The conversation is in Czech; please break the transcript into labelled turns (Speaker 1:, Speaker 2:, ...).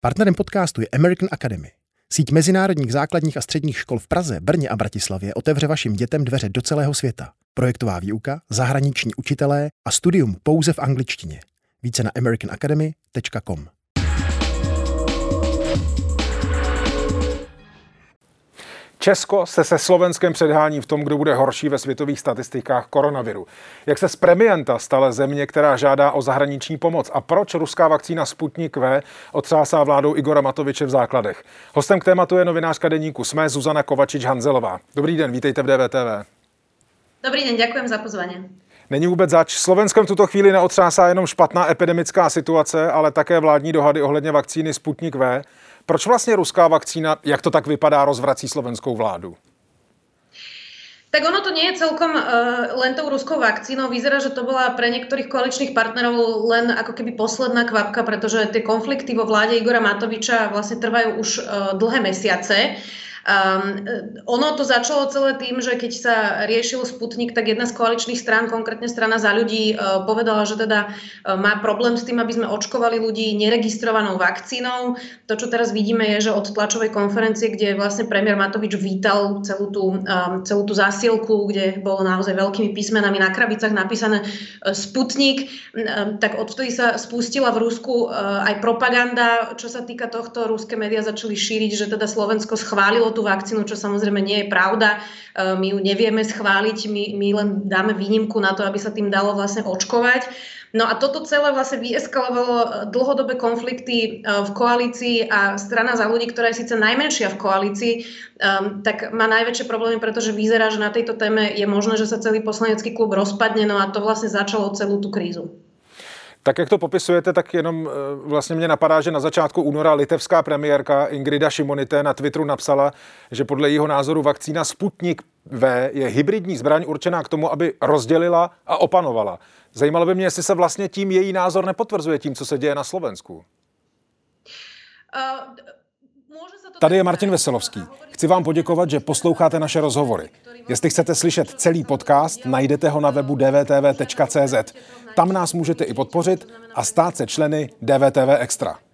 Speaker 1: Partnerem podcastu je American Academy. Síť mezinárodních základních a středních škol v Praze, Brně a Bratislavě otevře vašim dětem dveře do celého světa. Projektová výuka, zahraniční učitelé a studium pouze v angličtině. Více na americanacademy.com.
Speaker 2: Česko se Slovenskem předhání v tom, kdo bude horší ve světových statistikách koronaviru. Jak se z premianta stala země, která žádá o zahraniční pomoc a proč ruská vakcína Sputnik V otřásá vládou Igora Matoviče v základech. Hostem k tématu je novinářka deníku SME Zuzana Kovačič-Hanzelová. Dobrý den, vítejte v DVTV.
Speaker 3: Dobrý den, ďakujem za pozvanie.
Speaker 2: Není vůbec zač. Slovenskem v tuto chvíli neotřásá jenom špatná epidemická situace, ale také vládní dohady ohledně vakcíny Sputnik V. Proč vlastně ruská vakcína, jak to tak vypadá, rozvrací slovenskou vládu?
Speaker 3: Tak ono to nie je celkom len tou ruskou vakcínou. Vyzerá, že to bola pre niektorých koaličných partnerov len ako keby posledná kvapka, pretože tie konflikty vo vláde Igora Matoviča vlastne trvajú už dlhé mesiace. Ono to začalo celé tým, že keď sa riešil Sputnik, tak jedna z koaličných strán, konkrétne strana Za ľudí, povedala, že teda má problém s tým, aby sme očkovali ľudí neregistrovanou vakcínou. To, čo teraz vidíme, je, že od tlačovej konferencie, kde vlastne premiér Matovič vítal celú tú zásielku, kde bolo naozaj veľkými písmenami na krabicách napísané Sputnik, tak odvtedy sa spustila v Rusku aj propaganda. Čo sa týka tohto, ruské médiá začali šíriť, že teda Slovensko schválilo tú vakcínu, čo samozrejme nie je pravda. My ju nevieme schváliť, my len dáme výnimku na to, aby sa tým dalo vlastne očkovať. No a toto celé vlastne vyeskalovalo dlhodobé konflikty v koalícii a strana Za ľudí, ktorá je síce najmenšia v koalícii, tak má najväčšie problémy, pretože vyzerá, že na tejto téme je možné, že sa celý poslanecký klub rozpadne, no a to vlastne začalo celú tú krízu.
Speaker 2: Tak jak to popisujete, tak jenom vlastně mě napadá, že na začátku února litevská premiérka Ingrida Šimonytė na Twitteru napsala, že podle jeho názoru vakcína Sputnik V je hybridní zbraň určená k tomu, aby rozdělila a opanovala. Zajímalo by mě, jestli se vlastně tím její názor nepotvrzuje tím, co se děje na Slovensku. Tady je Martin Veselovský. Chci vám poděkovat, že posloucháte naše rozhovory. Jestli chcete slyšet celý podcast, najdete ho na webu dvtv.cz. Tam nás můžete i podpořit a stát se členy DVTV Extra.